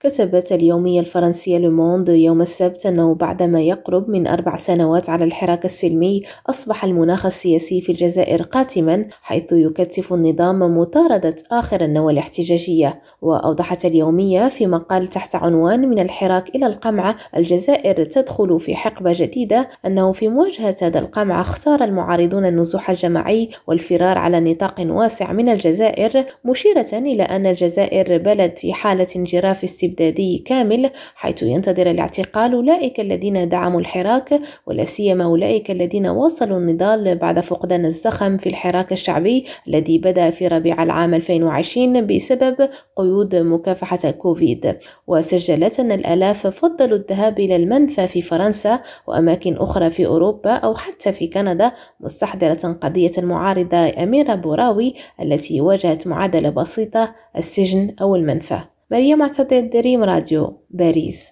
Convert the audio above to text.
كتبت اليومية الفرنسية لوموند يوم السبت أنه بعدما يقرب من 4 سنوات على الحراك السلمي، أصبح المناخ السياسي في الجزائر قاتما، حيث يكثف النظام مطاردة آخر النوى الاحتجاجية. وأوضحت اليومية في مقال تحت عنوان "من الحراك إلى القمع، الجزائر تدخل في حقبة جديدة" أنه في مواجهة هذا القمع اختار المعارضون النزوح الجماعي والفرار على نطاق واسع من الجزائر، مشيرة إلى أن الجزائر بلد في حالة انجراف استبدادي كامل، حيث ينتظر الاعتقال أولئك الذين دعموا الحراك، ولا سيما أولئك الذين واصلوا النضال بعد فقدان الزخم في الحراك الشعبي الذي بدأ في ربيع العام 2020 بسبب قيود مكافحة كوفيد. وسجلت أن الآلاف فضلوا الذهاب إلى المنفى في فرنسا وأماكن أخرى في أوروبا أو حتى في كندا، مستحضرة قضية المعارضة أميرة بوراوي التي واجهت معادلة بسيطة: السجن أو المنفى. مريم معتضد، دريم راديو، باريس.